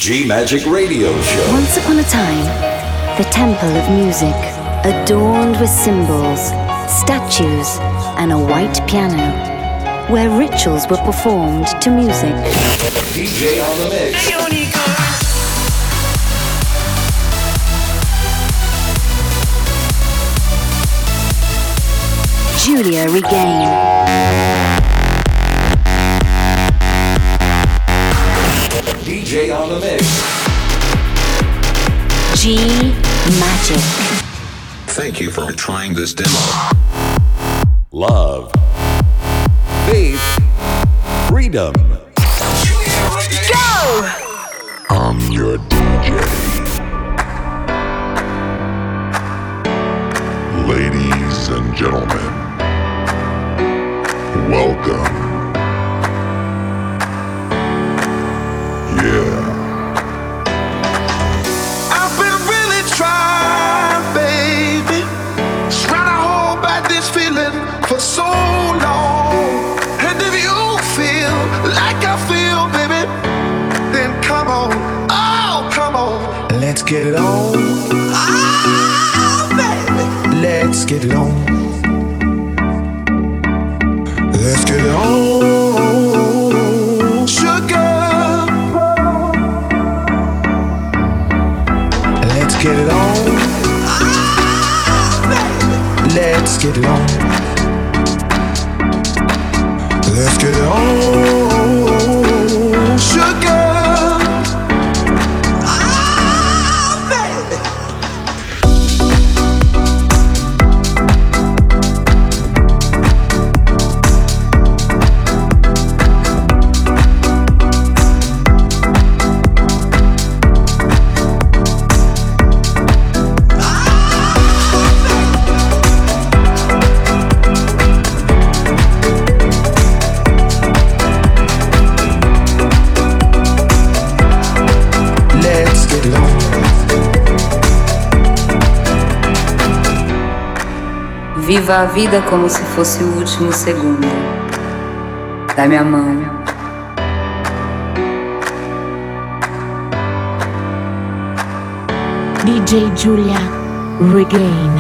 G Magic Radio Show. Once upon a time, the temple of music, adorned with symbols, statues, and a white piano, where rituals were performed to music. DJ on the mix. Giulia Regain. DJ on the mix. G Magic. Thank you for trying this demo. Love. Faith. Freedom. Go! I'm your DJ. Ladies and gentlemen, welcome. Yeah. I've been really trying, baby. Trying to hold back this feeling for so long. And if you feel like I feel, baby, then come on, oh, come on. Let's get it on. Oh, baby. Let's get it on. Let's get it on. Sugar. Let's get it on. Let's get it on. Let's get it on. Sugar. Viva a vida como se fosse o último segundo. Dá-me a mão. DJ Giulia Regain.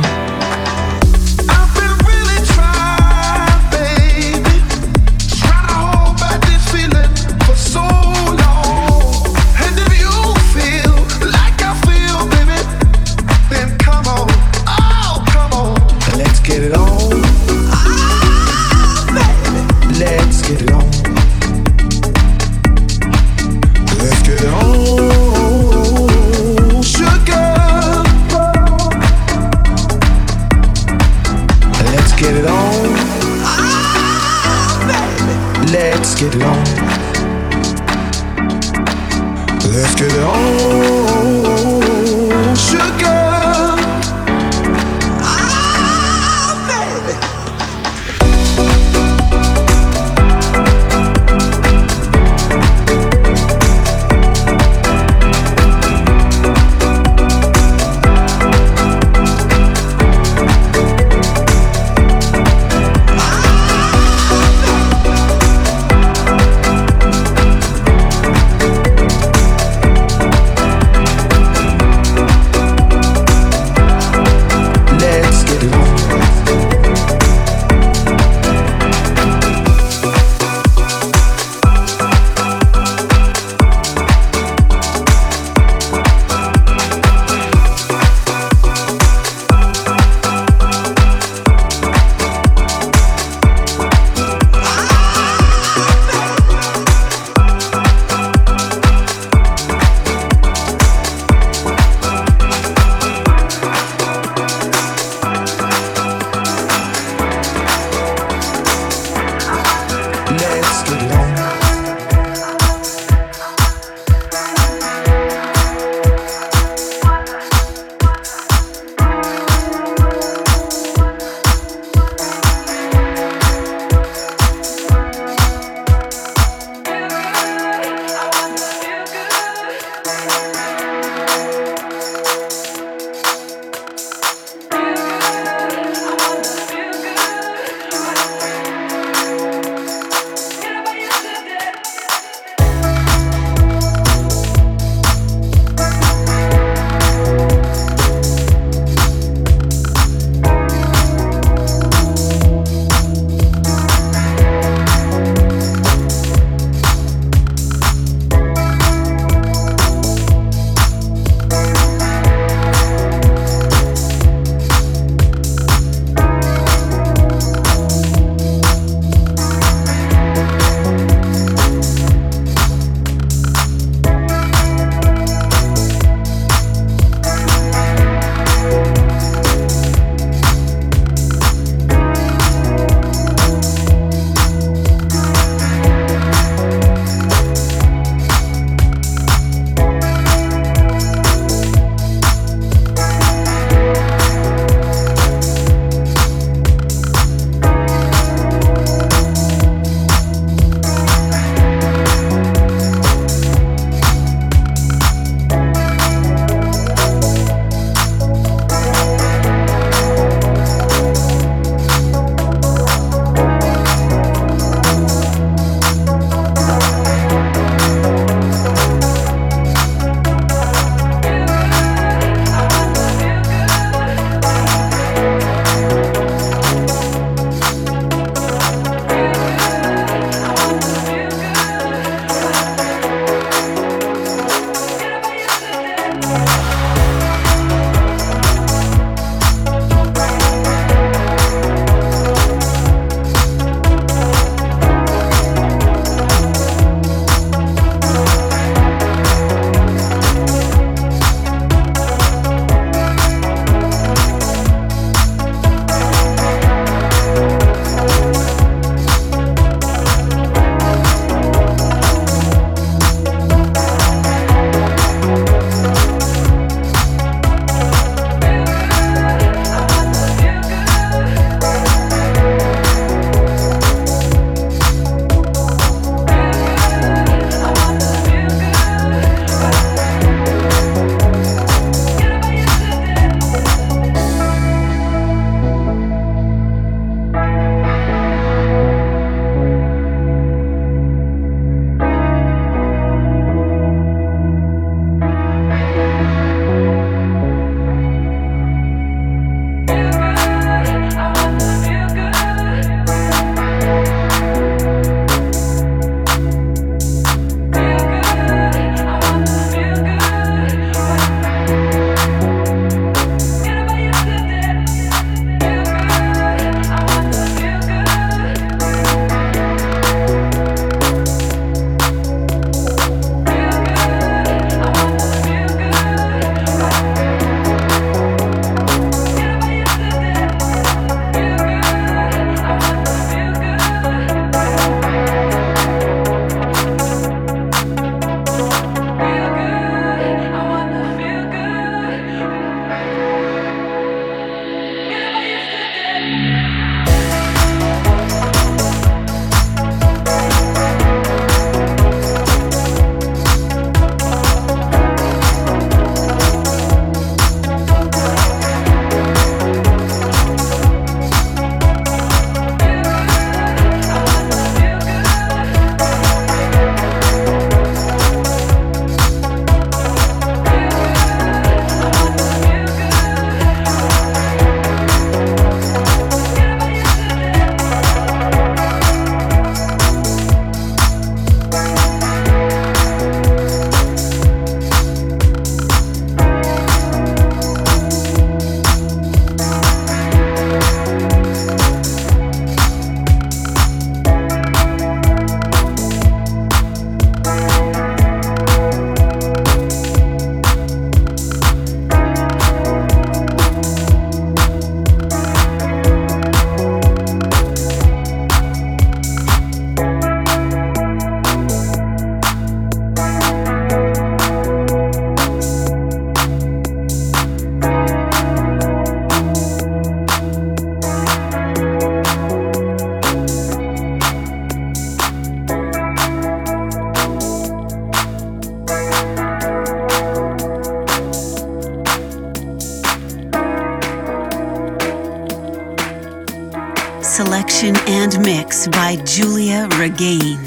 production and mix by Giulia Regain.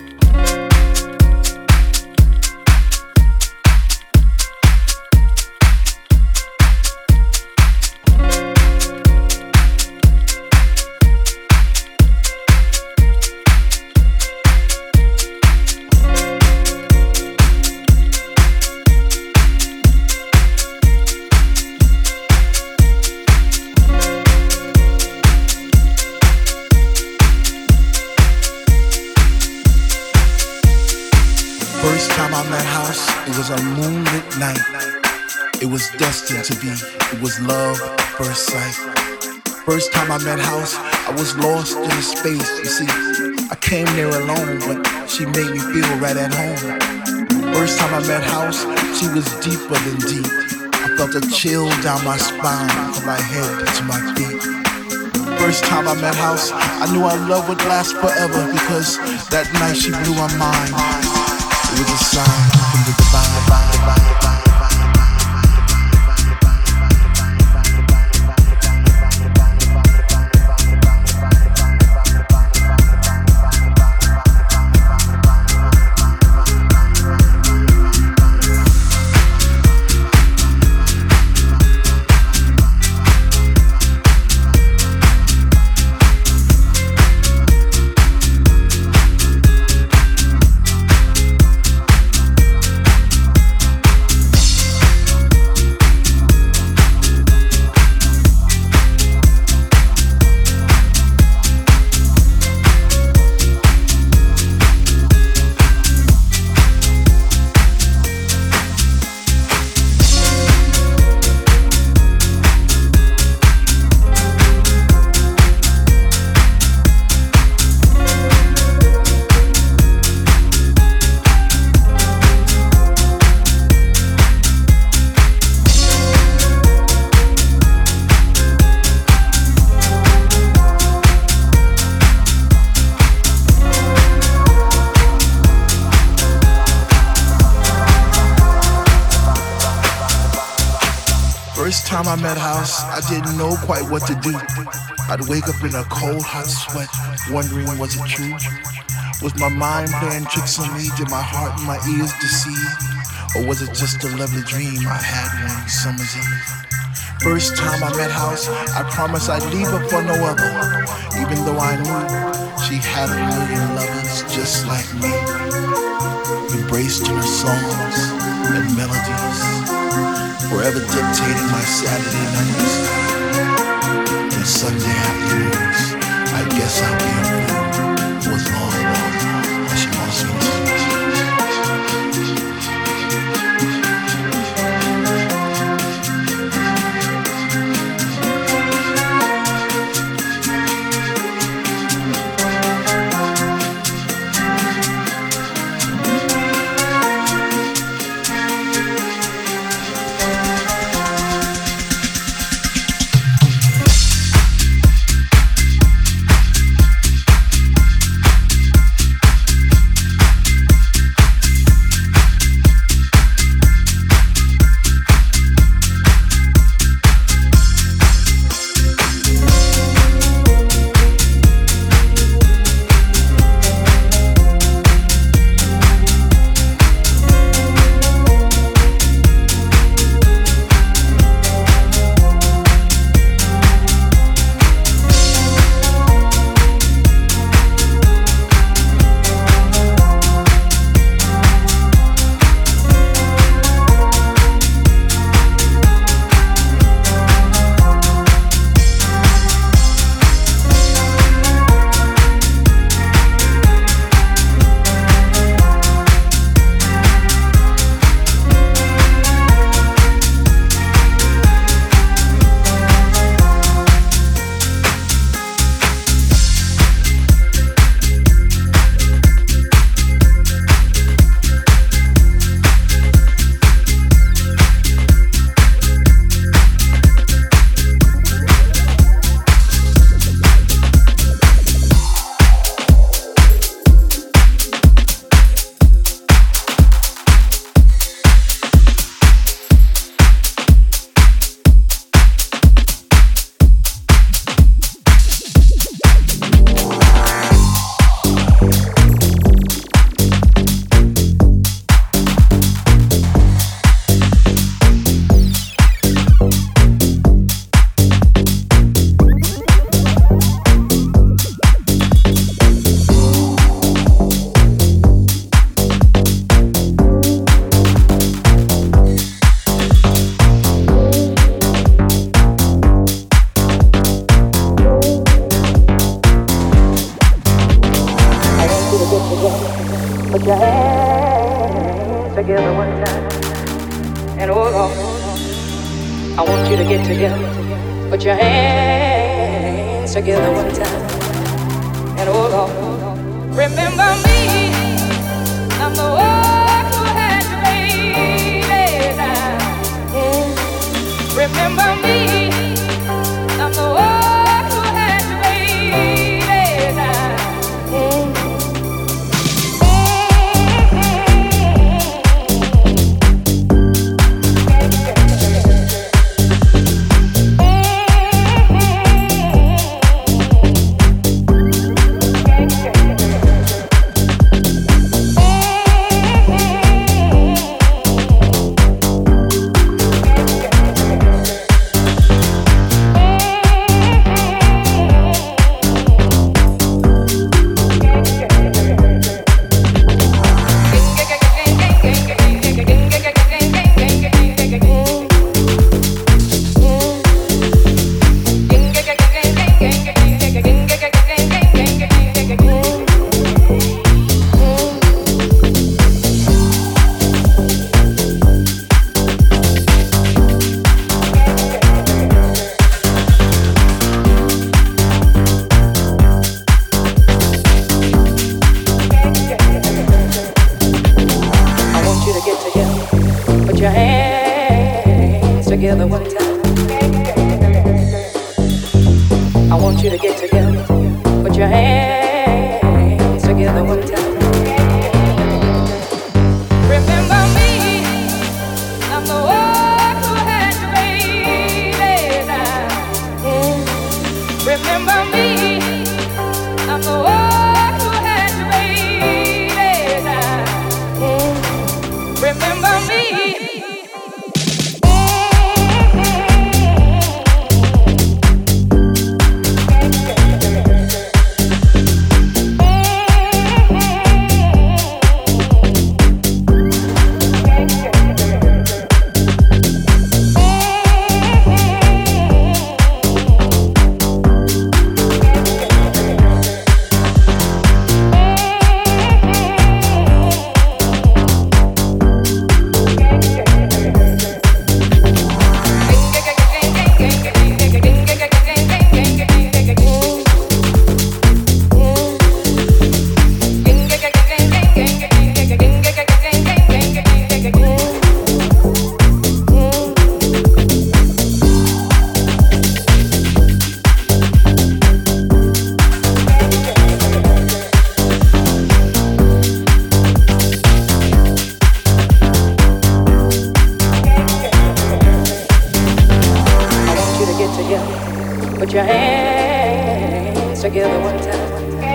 First time I met House, it was a moonlit night. It was destined to be, it was love at first sight. First time I met House, I was lost in space. You see, I came there alone, but she made me feel right at home. First time I met House, she was deeper than deep. I felt a chill down my spine, from my head to my feet. First time I met House, I knew our love would last forever, because that night she blew my mind. It was a sign from the divine. First time I met House, I didn't know quite what to do. I'd wake up in a cold, hot sweat, wondering was it true? Was my mind playing tricks on me? Did my heart and my ears deceive? Or was it just a lovely dream I had one summer's eve? First time I met House, I promised I'd leave her for no other, even though I knew she had a million lovers just like me, embraced in her songs and melodies, forever dictating my Saturday nights and Sunday afternoons. I guess I'll be a fool for as long as she wants me to. your hands together one time. And oh Lord, I want you to get together. Put your hands together one time. And oh Lord, remember me. I'm the one who had you raised. Remember me. I'm the one who had you raised. Together one time. I want you to get together. Put your hands together one time. Remember me. I'm the one who had you raised. Remember me. I'm the one who had you raised. Remember me. Put your hands together one time.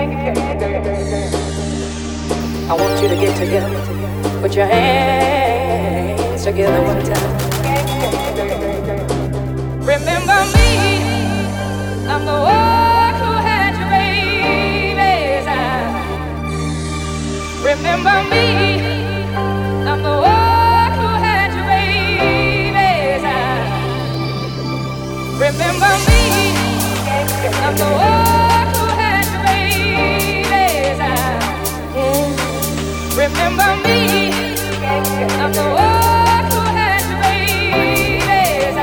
I want you to get together. Put your hands together one time. Remember me. I'm the one who had you raised. Remember me. I'm the one who had you raised. Remember me. I'm the one who had you raised. Remember me. I'm the one who had you raised.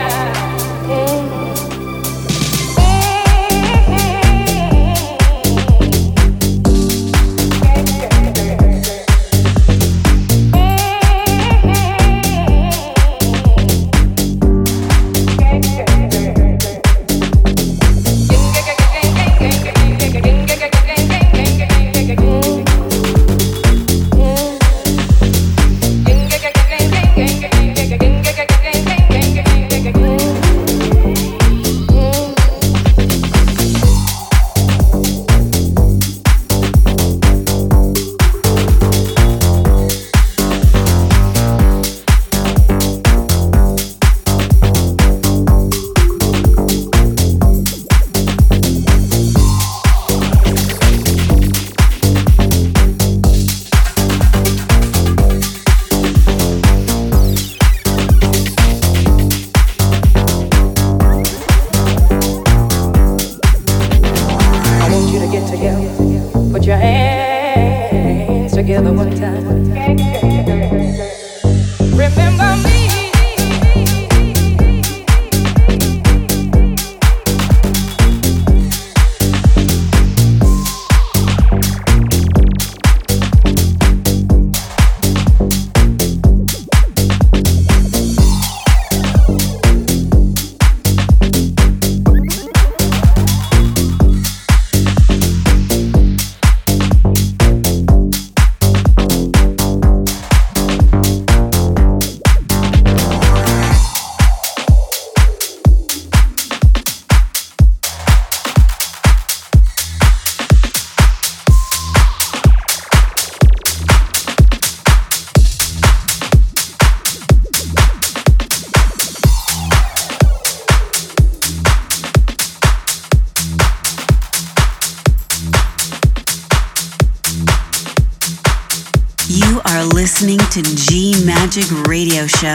together one time. Remember me. Listening to G Magic Radio Show.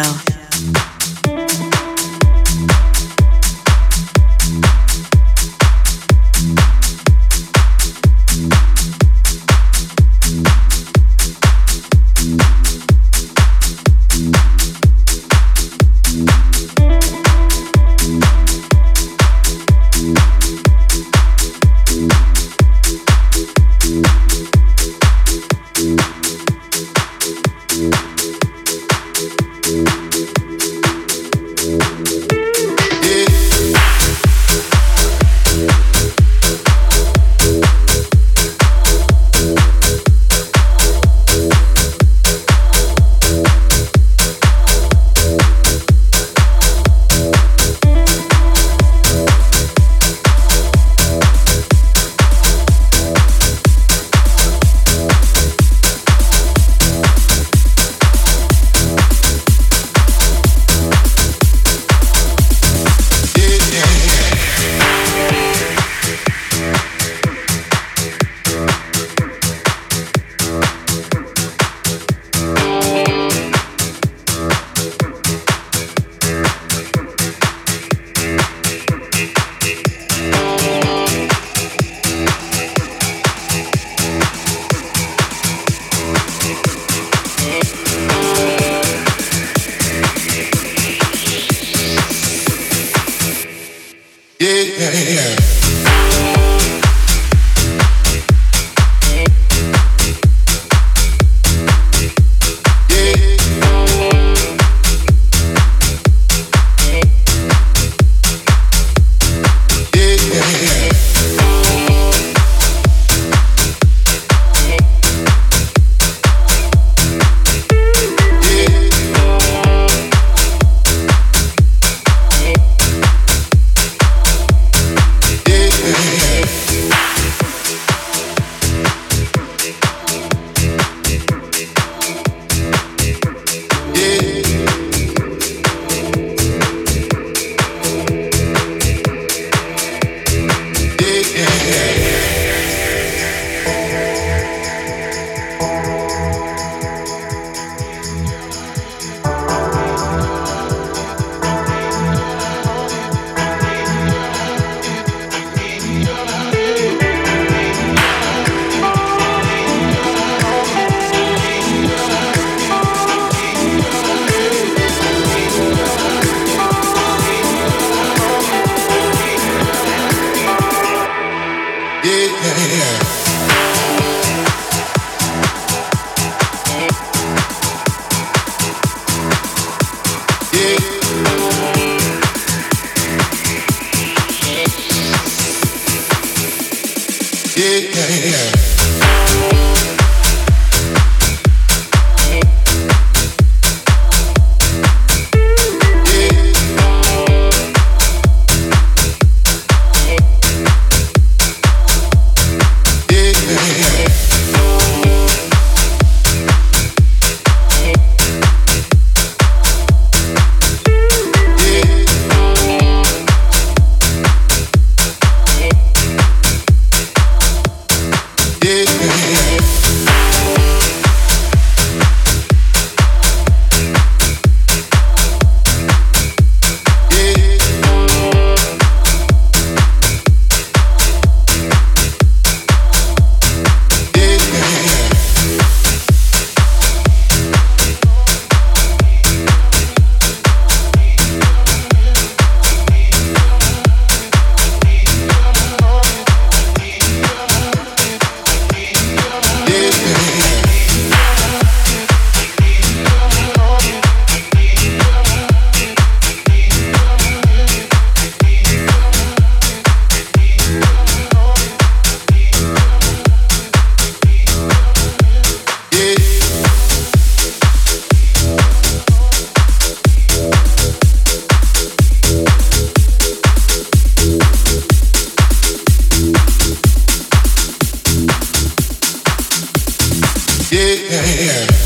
Yeah.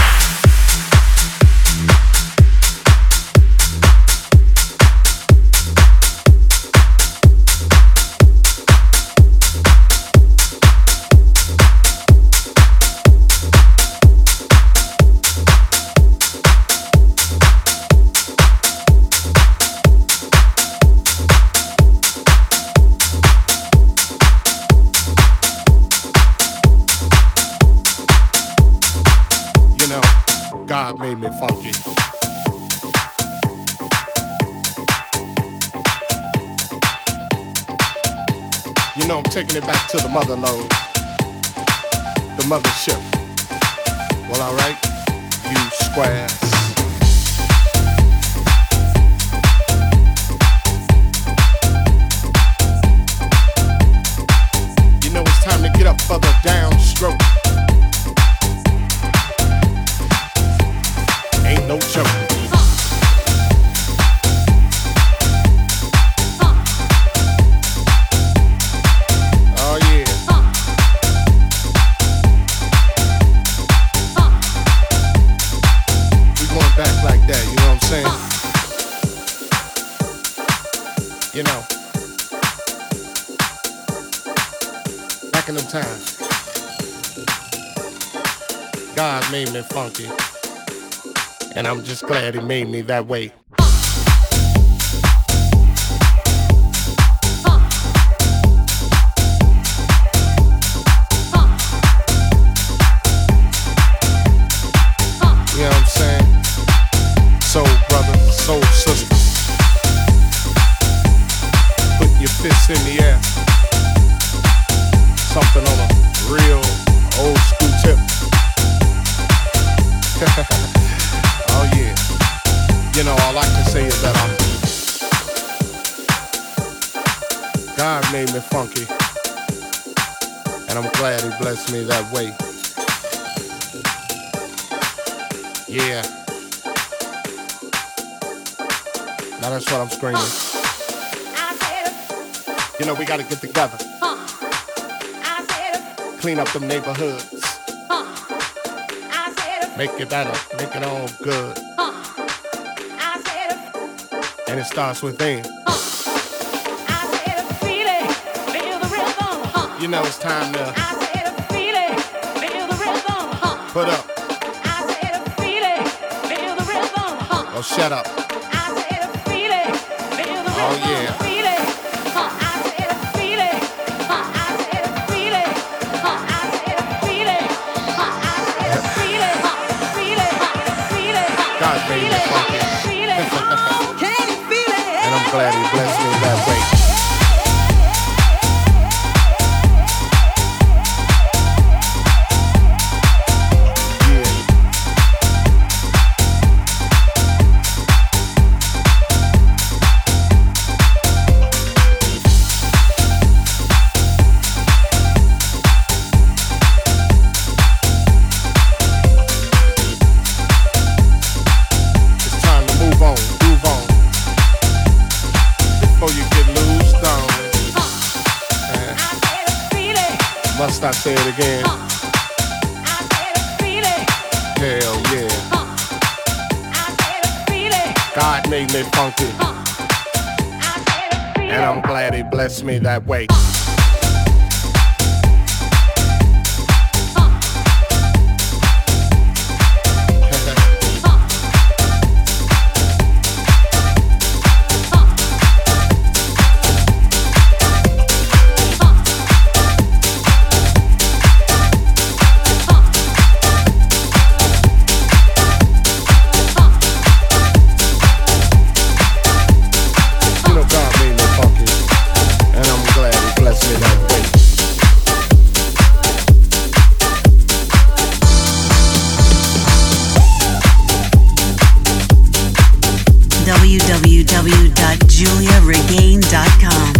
God made me funky. You know, I'm taking it back to the mother lode, the mothership. Well, alright, you squares. You know it's time to get up for the downstroke. Ain't no joke. Oh yeah. We going back like that, you know what I'm saying? You know, back in them times, God made me funky. And I'm just glad he made me that way. You know what I'm saying? Soul brother, soul sister. Put your fists in the air. Something on a real old school tip. Oh yeah, you know, all I can say is that God made me funky, and I'm glad he blessed me that way. Yeah, now that's what I'm screaming. You know, we gotta get together, clean up them neighborhoods. Make it better, make it all good. And it starts within. You know it's time to put up. Oh, shut up. Oh, yeah. God made me funky. And I'm glad he blessed me that way. Must I say it again? Hell yeah. God made me funky. And I'm glad he blessed me that way. www.juliaregain.com.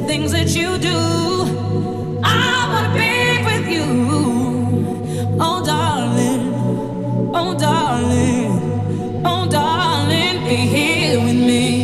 things that you do. I wanna be with you, oh darling, oh darling, oh darling, be here with me.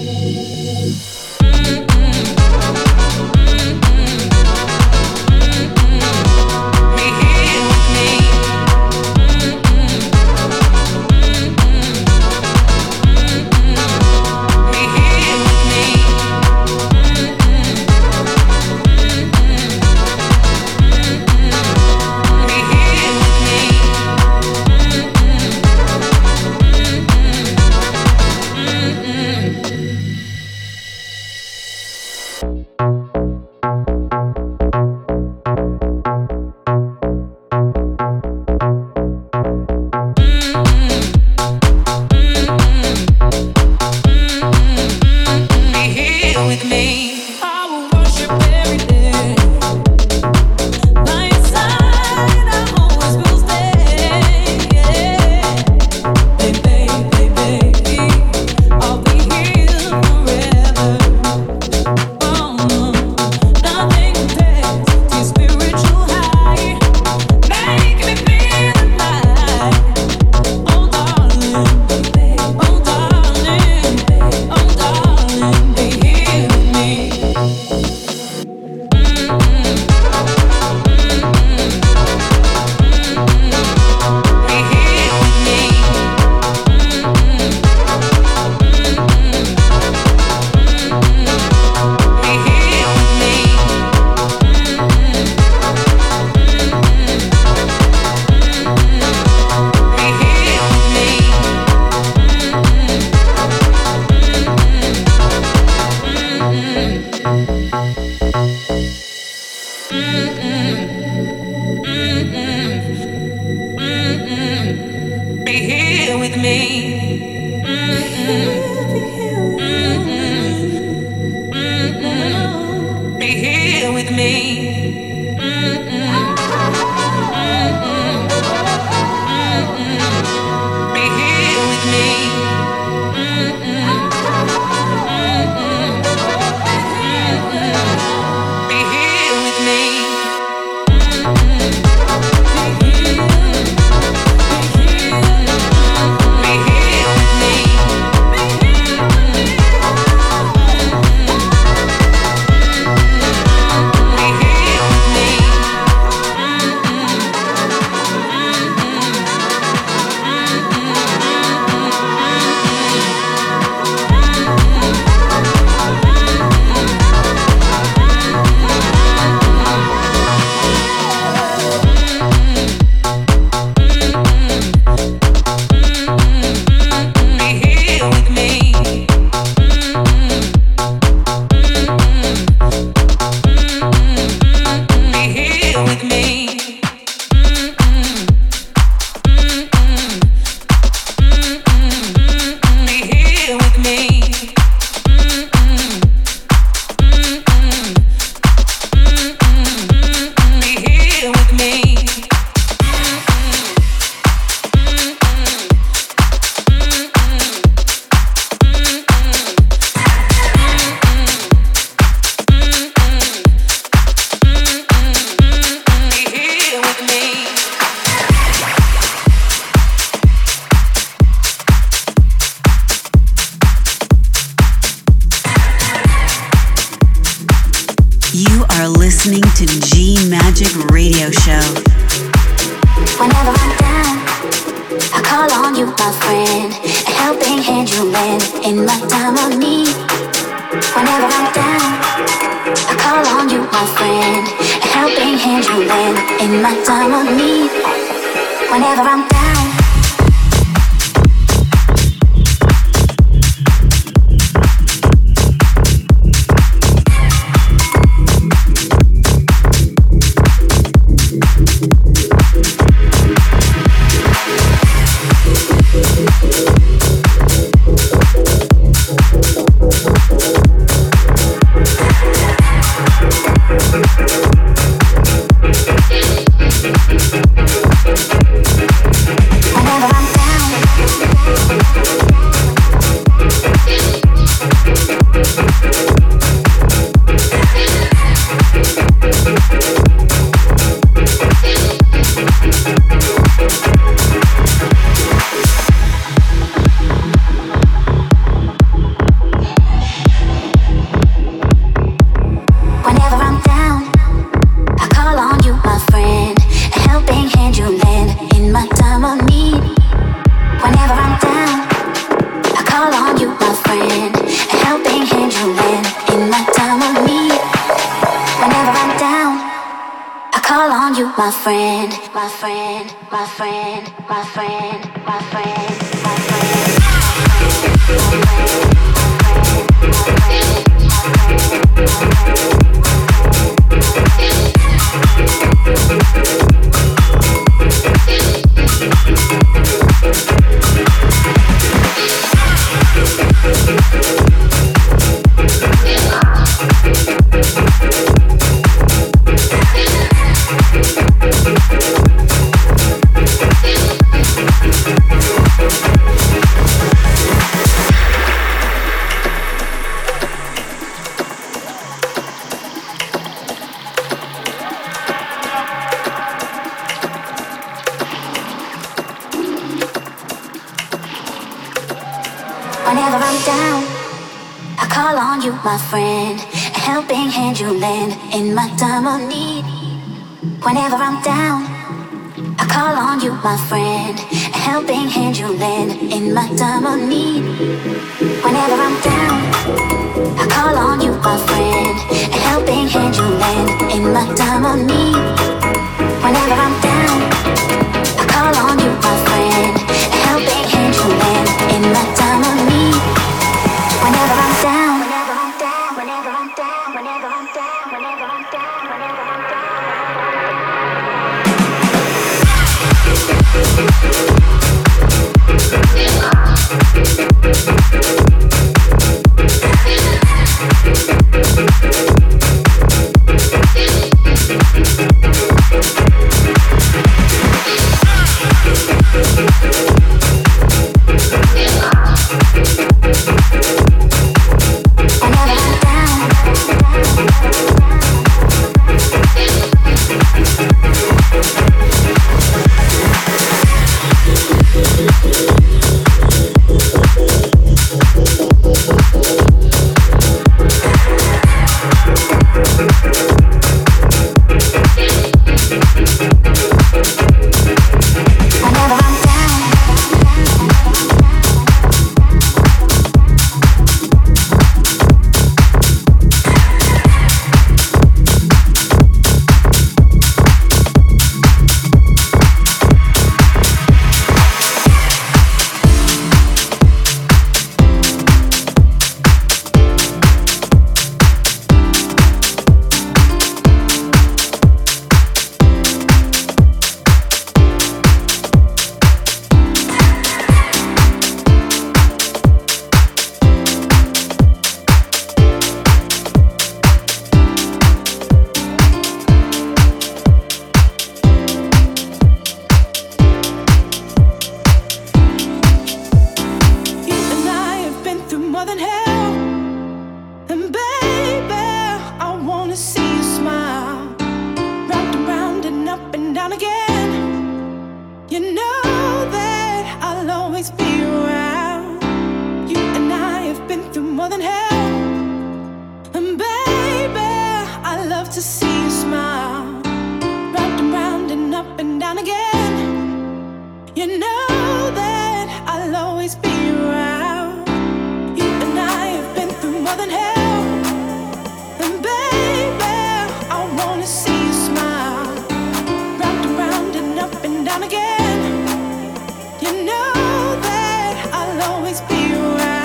listening to G Magic Radio Show. Whenever I'm down, I call on you, my friend. A helping hand you lend in my time of need. Whenever I'm down, I call on you, my friend. A helping hand you lend in my time of need. Whenever I'm down. on you, my friend, my friend, my friend, my friend, my friend, my friend. Whenever I'm down, I call on you, my friend. A helping hand you lend in my time of need. Whenever I'm down, I call on you, my friend. A helping hand you lend in my time of need. Whenever I'm down, I call on you, my friend. A helping hand you lend in my time of need. Whenever I'm down, I call on you, my friend. A helping hand you lend in my time of need. Whenever I'm down, whenever I'm down, whenever I'm down, whenever I'm down, whenever I'm down, whenever I'm down.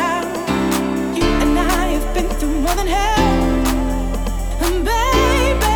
Baby,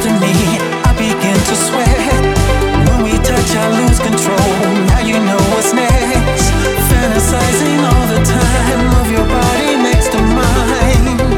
to me, I begin to sweat. When we touch, I lose control. Now you know what's next. Fantasizing all the time of your body next to mine.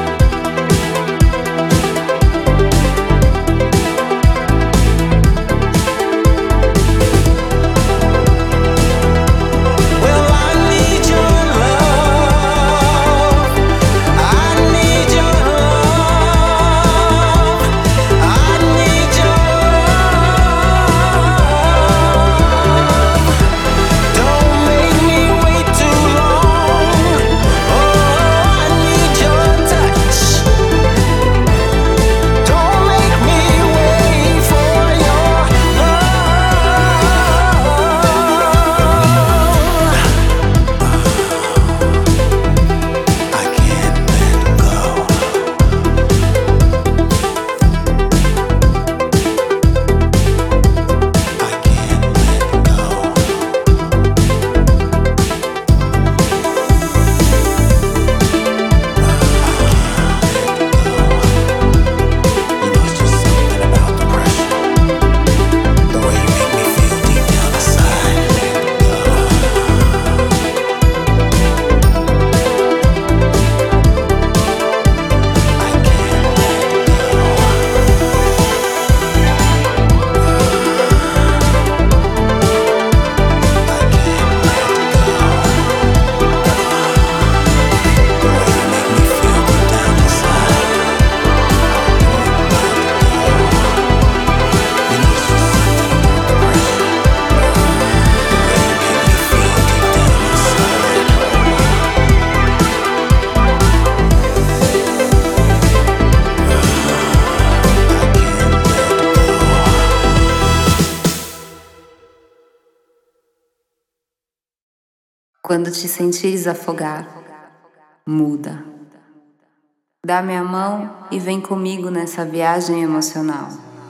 Quando te sentires afogar, muda. Dá-me a mão e vem comigo nessa viagem emocional.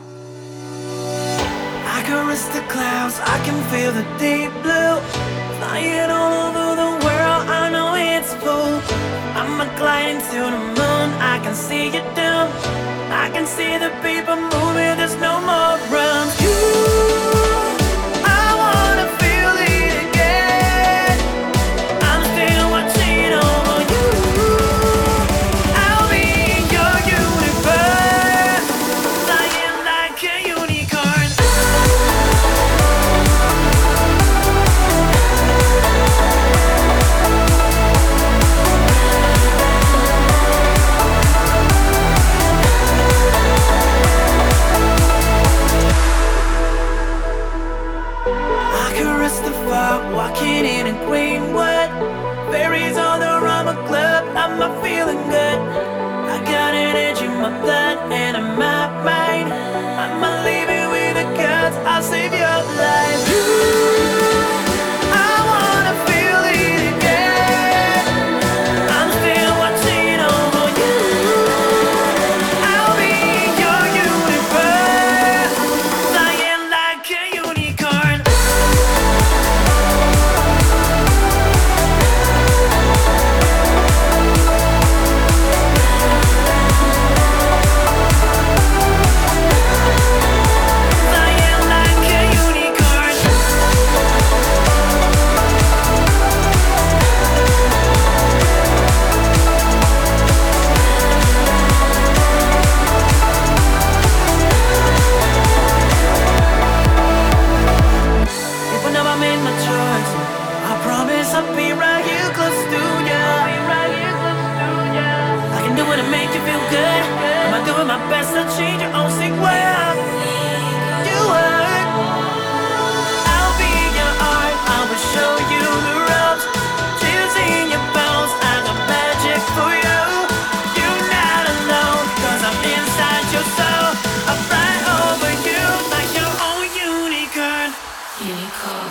I caress the clouds, I can feel the deep blue. Flying all over the world, I know it's full. I'm gliding to the moon, I can see you down. I can see the people moving, there's no more runs. I wanna feel it again. I'm still watching over you. I'll be in your universe, flying like a unicorn. Walking in a Greenwood, berries on the rubber club. I'm not feeling good. I got an edge in my blood and in my mind. I'm not leaving with the guts. I'll save your life. I wanna feel it again. I'm still watching over you. I'll be in your universe, flying like a unicorn. I'll be right here close to you. I can do it to make you feel good. I'm doing my best to change your own sick way. Do it. I'll be your art. I will show you the ropes. Chills in your bones. I got magic for you. You're not alone, 'cause I'm inside your soul. I'll fly over you like your own unicorn. Unicorn.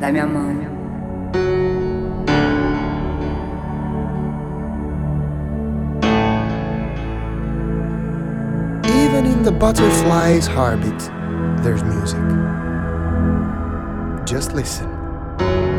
da minha mão. Even in the butterfly's heartbeat, there's music. Just listen.